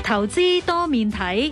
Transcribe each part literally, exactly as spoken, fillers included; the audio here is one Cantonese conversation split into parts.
投資多面睇。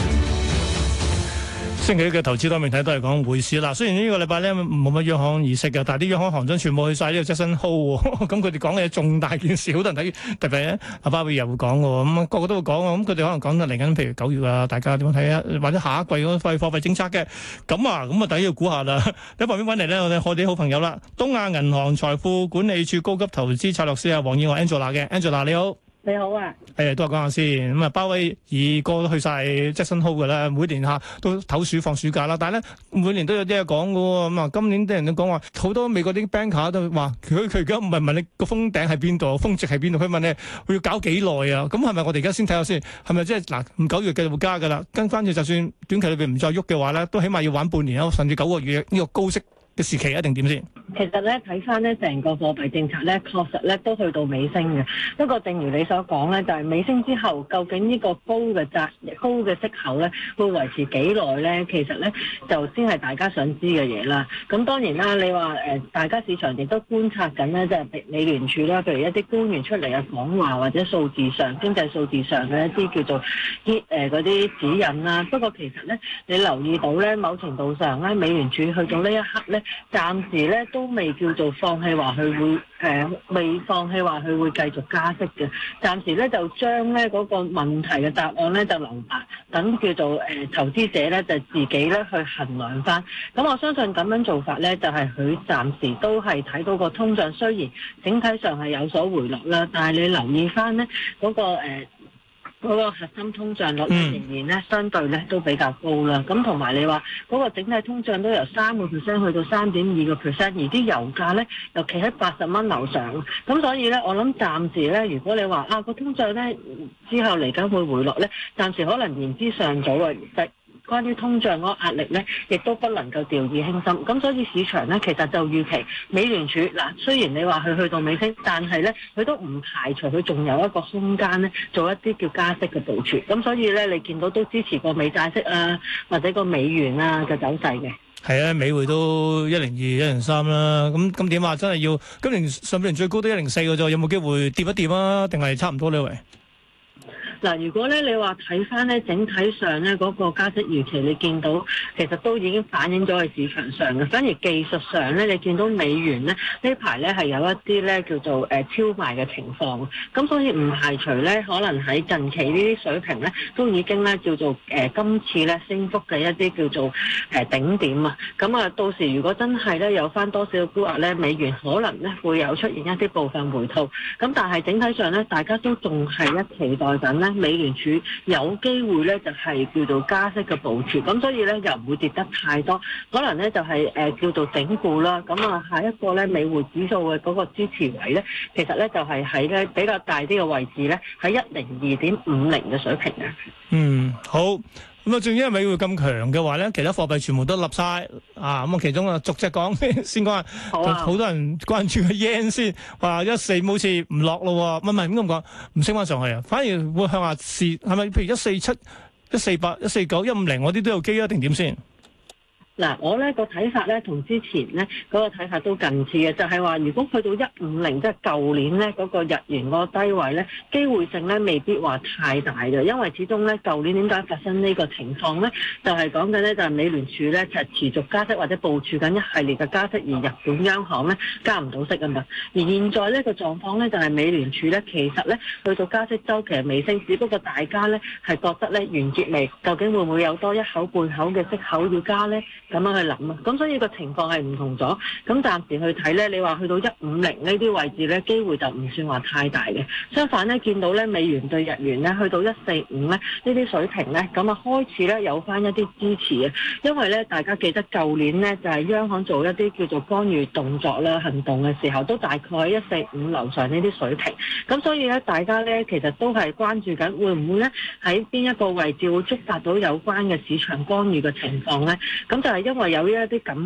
星期一嘅投資多面睇都係講匯市啦。雖然呢個禮拜咧冇乜央行議息嘅，但係啲央行行長全部去晒呢個 Jackson Hole 喎。咁佢哋講嘅嘢重大件事，好多人睇。特別咧，阿鮑威爾又會講嘅喎。咁、嗯、個個都會講啊。咁佢哋可能講得嚟緊，譬如九月啊，大家點樣睇啊？或者下一季嗰個貨幣政策嘅。咁啊，咁啊，第一要估下啦。喺旁邊揾嚟咧，我哋我哋好朋友啦，東亞銀行財富管理處高級投資策略師啊，黃燕華 Angela 嘅 Angela 你好。 你好啊， 誒都係講下先。咁啊，鮑威爾個都去晒 Jackson Hole 嘅啦，每年嚇都唞暑放暑假啦。但係咧，每年都有啲嘢講嘅喎。咁啊，今年啲人都講話，好多美國啲 banker 都話，佢佢而家唔係問你個峰頂喺邊度，峰值喺邊度，佢問你佢要搞幾耐啊？咁係咪我哋而家先睇下先？係咪即係嗱？唔九月繼續會加嘅啦，跟翻住就算短期裏邊唔再喐嘅話咧，都起碼要玩半年啊，甚至九個月呢個高息嘅時期一定點先？ 其實咧睇翻咧成個貨幣政策咧，確實咧都去到尾聲嘅。不過正如你所講咧，就係、是、尾聲之後，究竟呢個高嘅債、高嘅息口咧，會維持幾耐咧？其實咧就先係大家想知嘅嘢啦。咁當然啦，你話誒、呃，大家市場亦都觀察緊咧，即係美聯儲啦，譬如一啲官員出嚟嘅講話，或者數字上、經濟數字上嘅一啲叫做啲誒嗰啲指引啦。不過其實咧，你留意到咧，某程度上咧，美聯儲去到呢一刻咧，暫時咧都未叫做放棄話佢會誒、呃，未放棄話佢會繼續加息嘅。暫時咧就將咧嗰、那個問題嘅答案咧就留白，等叫做誒、呃、投資者咧就自己咧去衡量翻。咁我相信咁樣做法咧，就係、是、佢暫時都係睇到個通脹雖然整體上係有所回落啦，但係你留意翻咧嗰個、呃嗰個核心通脹率仍然咧相對咧都比較高啦，咁同埋你話嗰個整體通脹都由三個 percent 去到三點二個 percent，而啲油價咧又企喺八十蚊樓上，咁所以咧我諗暫時咧，如果你話啊個通脹咧之後嚟緊會回落咧，暫時可能言之尚早啊。關於通脹嗰個壓力咧，亦都不能夠掉以輕心。咁所以市場咧，其實就預期美聯儲嗱，雖然你話佢去到尾聲，但係咧佢都唔排除佢仲有一個空間咧，做一啲叫加息嘅部署。咁所以咧，你見到都支持個美債息啊，或者個美元啊嘅走勢嘅。 係啊，美匯都一零二、一零三啦。咁咁點啊？真係要今年上半年最高都一零四嘅啫，有冇機會跌一跌啊？定係差唔多呢？喂？ 嗱，如果咧你話睇翻咧整體上咧嗰個加息預期，你見到其實都已經反映咗喺市場上嘅。反而技術上咧，你見到美元咧呢排咧係有一啲咧叫做誒超賣嘅情況，咁所以唔排除咧可能喺近期呢啲水平咧都已經咧叫做誒、呃、今次咧升幅嘅一啲叫做誒、呃、頂點啊。咁啊，到時如果真係咧有翻多少嘅沽壓咧，美元可能咧會有出現一啲部分回吐。咁但係整體上咧，大家都仲係一期待緊咧。美聯儲有機會咧，就係叫做加息嘅部署，咁所以咧又唔會跌得太多，可能咧就係誒叫做整固啦。咁啊，下一個咧美匯指數嘅嗰個支持位咧，其實咧就係喺咧比較大啲嘅位置咧，喺一零二點五零嘅水平嘅。 嗯，好。咁啊，正因為美匯咁強嘅話咧，其他貨幣全部都立晒啊！咁啊，其中啊逐隻講先講下，好啊，好多人關注個 yen 先，話一四好似唔落咯，唔係唔係咁講，唔升翻上去啊，反而會向下試，係咪？譬如一四七、一四八、一四九、一五零，我啲都有機啊，定點先？ 嗱，我咧個睇法咧同之前咧嗰個睇法都近似嘅，就係話如果去到一五零，即係舊年咧嗰個日元嗰個低位咧，機會性咧未必話太大嘅，因為始終咧舊年點解發生呢個情況咧，就係講緊咧就係美聯儲咧就係持續加息或者部署緊一系列嘅加息，而日本央行咧加唔到息啊嘛。而現在呢個狀況咧就係美聯儲咧其實咧去到加息週期係尾聲，只不過大家咧係覺得咧完結未，究竟會唔會有多一口半口嘅息口要加咧？咁樣去諗啊，咁所以個情況係唔同咗。咁暫時去睇咧，你話去到一五零呢啲位置咧，機會就唔算話太大嘅。相反咧，見到咧美元對日元咧去到一四五咧呢啲水平咧，咁啊開始咧有翻一啲支持啊。因為咧大家記得舊年咧就係央行做一啲叫做干預動作啦、行動嘅時候，都大概喺一四五樓上呢啲水平。咁所以咧，大家咧其實都係關注緊會唔會咧喺邊一個位置會觸發到有關嘅市場干預嘅情況咧？咁就係因為有呢一啲咁嘅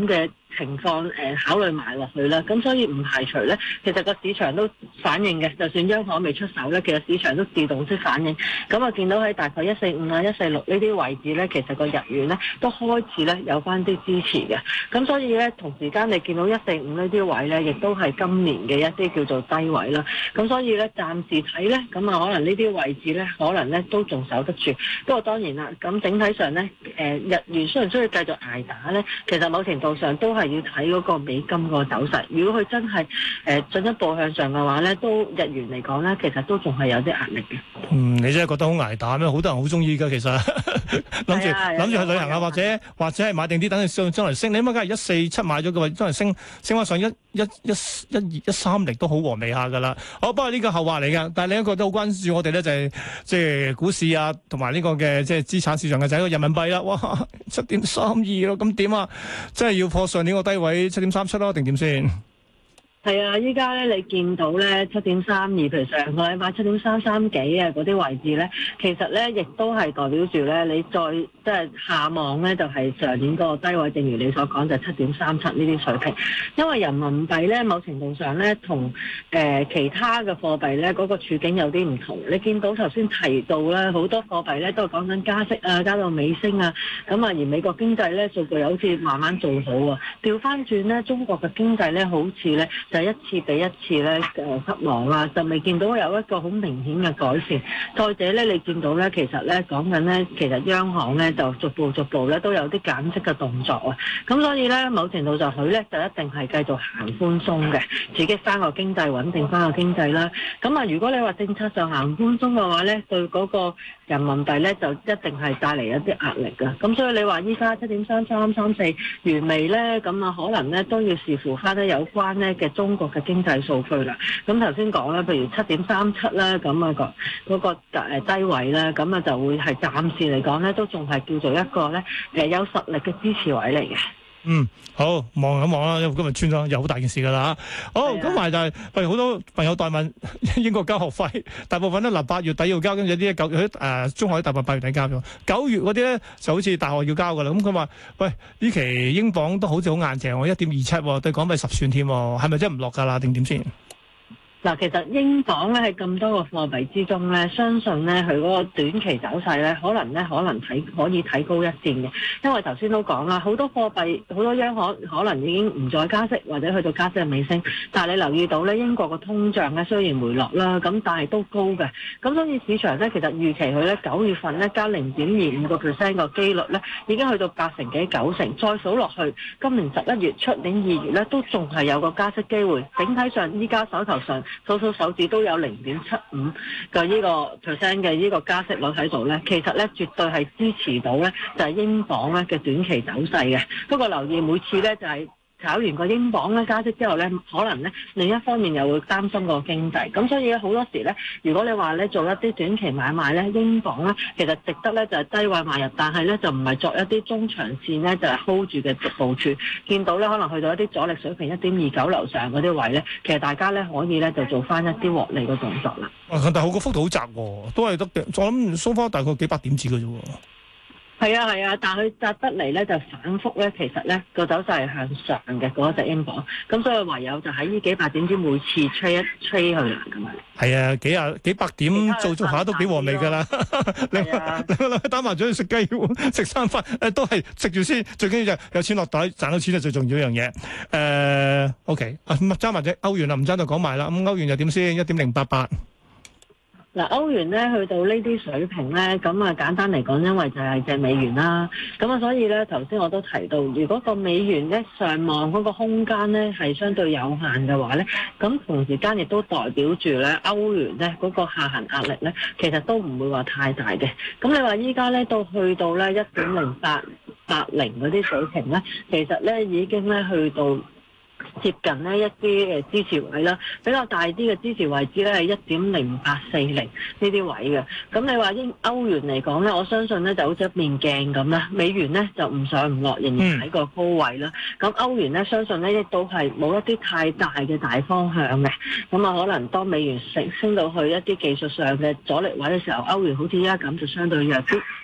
情況誒、呃、考慮埋落去啦。咁所以唔排除咧，其實個市場都反應嘅，就算央行未出手咧，其實市場都自動式反應。咁啊，見到喺大概一四五啊、一四六呢啲位置咧，其實個日元咧都開始咧有翻啲支持嘅。咁所以咧，同時間你見到一四五呢啲位咧，亦都係今年嘅一啲叫做低位啦。咁所以咧，暫時睇咧，咁啊，可能呢啲位置咧，可能咧都仲守得住。不過當然啦，咁整體上咧，誒、呃、日元雖然需要繼續捱打咧，其實某程度上都係要睇嗰個美金個走勢。如果佢真係誒進一步向上嘅話咧，都日元嚟講咧，其實都仲係有啲壓力嘅。 嗯，你真係覺得好捱打咩？好多人好中意㗎，其實諗住諗住去旅行啊，或者或者係買定啲等佢上將來升。你諗下，假如一四七買咗嘅話，將來升升翻上一一一一二一三零都好和味下㗎啦。好，不過呢個後話嚟㗎。但係另一個都好關注我哋咧，就係即係股市啊，同埋呢個嘅即係資產市場嘅就係個人民幣啦。哇，七點三二咯，咁點啊？真係要破上年個低位七點三七咯，定點先？ 係啊，依家咧你見到咧七點三二，譬如上個禮拜七點三三幾啊嗰啲位置咧，其實咧亦都係代表住咧你再即係下望咧就係、是、上年嗰個低位，正如你所講就七點三七呢啲水平。因為人民幣咧某程度上咧同誒其他嘅貨幣咧嗰、那個處境有啲唔同。你見到頭先提到咧好多貨幣咧都係講緊加息啊，加到尾聲啊，咁啊而美國經濟咧數據又好似慢慢做好啊。調翻轉咧，中國嘅經濟咧好似咧。就一次比一次咧誒失望啦，就未見到有一個好明顯嘅改善。再者咧，你見到咧，其實咧講緊咧，其實央行咧就逐步逐步咧都有啲減息嘅動作啊。咁所以咧，某程度就佢咧就一定係繼續行寬鬆嘅，刺激翻個經濟，穩定翻個經濟啦。咁啊，如果你話政策上行寬鬆嘅話咧，對嗰個人民幣咧就一定係帶嚟一啲壓力㗎。咁所以你話依家七點三三三四完未咧？咁啊，可能咧都要視乎翻咧有關咧嘅中國嘅經濟數據啦，咁頭先講咧，譬如七點三七啦，咁啊個嗰個誒低位咧，咁啊就會係暫時嚟講咧，都仲係叫做一個咧誒有實力嘅支持位嚟嘅。 嗯，好望一望啦，因為今日穿咗有好大件事噶啦。好，咁埋、啊、就係、是，譬如好多朋友代問英國交學費，大部分咧嗱八月底要交，跟住有啲九誒、呃、中學大部分八月底交咗，九月嗰啲咧就好似大學要交噶啦。咁佢話：喂，呢期英鎊都好似好硬淨喎，一點二七對港幣十算添，係咪真係唔落㗎啦？定點先？ 嗱，其實英鎊咧喺咁多個貨幣之中咧，相信咧佢嗰個短期走勢咧，可能咧可能睇可以睇高一線嘅，因為頭先都講啦，好多貨幣好多央行可能已經唔再加息，或者去到加息嘅尾聲。但係你留意到咧，英國嘅通脹咧雖然回落啦，咁但係都高嘅。咁所以市場咧其實預期佢咧九月份咧加零點二五個 percent 個機率咧，已經去到八成幾九成。再數落去，今年十一月、出年二月咧都仲係有個加息機會。整體上依家手頭上數數手指都有零點七五嘅呢個 percent 嘅呢個加息率喺度咧，其實咧絕對係支持到咧就係英鎊咧嘅短期走勢嘅。不過留意每次咧就係炒完個英鎊咧加息之後咧，可能咧另一方面又會擔心個經濟。咁所以咧好多時咧，如果你話咧做一啲短期買賣咧，英鎊咧其實值得咧就係低位買入，但係咧就唔係作一啲中長線咧就係 hold 住嘅部署。見到咧可能去到一啲阻力水平一點二九樓上嗰啲位咧，其實大家咧可以咧就做翻一啲獲利嘅動作啦。 啊，但係好個幅度好窄喎，都係得嘅。我諗蘇花大概幾百點子嘅啫喎。 係啊係啊，但係佢扎得嚟咧就反覆咧，其實咧個走勢係向上嘅嗰隻英鎊，咁所以唯有就喺呢幾百點之每次吹一吹去啦咁樣。係啊，幾啊幾百點做做下都幾和味㗎啦。你你打麻雀食雞食三番誒都係食住先，最緊要就有錢落袋，賺到錢係最重要一樣嘢。誒、呃、OK，啊爭埋隻歐元啦，唔爭就講埋啦。咁歐元又點先？一點零八八。 嗱，歐元咧去到呢啲水平咧，咁啊簡單嚟講，因為就係隻美元啦，咁啊所以咧頭先我都提到，如果個美元咧上望嗰個空間咧係相對有限嘅話咧，咁同時間亦都代表住咧歐元咧嗰個下行壓力咧，其實都唔會話太大嘅。咁你話依家咧到去到咧一點零八八零嗰啲水平咧，其實咧已經咧去到接近呢一啲誒支持位啦，比較大啲嘅支持位置咧係一點零八四零呢啲位嘅。咁你話英歐元嚟講咧，我相信咧就好似一面鏡咁啦。美元咧就唔上唔落，仍然喺個高位啦。咁歐元咧相信咧亦都係冇一啲太大嘅大方向嘅。咁啊，可能當美元升升到去一啲技術上嘅阻力位嘅時候，歐元好似依家咁就相對弱啲。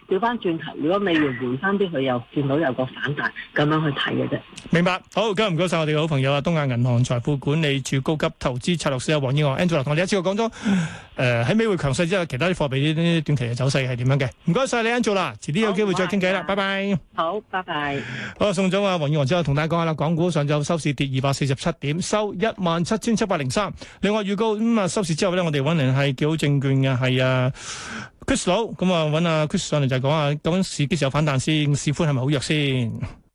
調翻轉頭，如果美元回翻啲，佢又見到有個反彈，咁樣去睇嘅啫。 明白，好，今日唔該晒我哋嘅好朋友啊，東亞銀行財富管理處高級投資策略師啊，黃燕娥 Angela 同我哋一次過講咗，誒喺美匯強勢之後，其他啲貨幣呢啲短期嘅走勢係點樣嘅？唔該晒你 Angela，遲啲有機會再傾偈啦，拜拜。 好，拜拜。 好，送咗啊黃燕娥之後，同大家講下啦，港股上晝收市跌二百四十七點，收一萬七千七百零三。另外預告咁啊，收市之後咧，我哋揾嚟係幾好證券嘅係啊 Chris 佬，咁啊揾阿 Chris 上嚟就係講下究竟市幾時有反彈先，市寬係咪好弱先？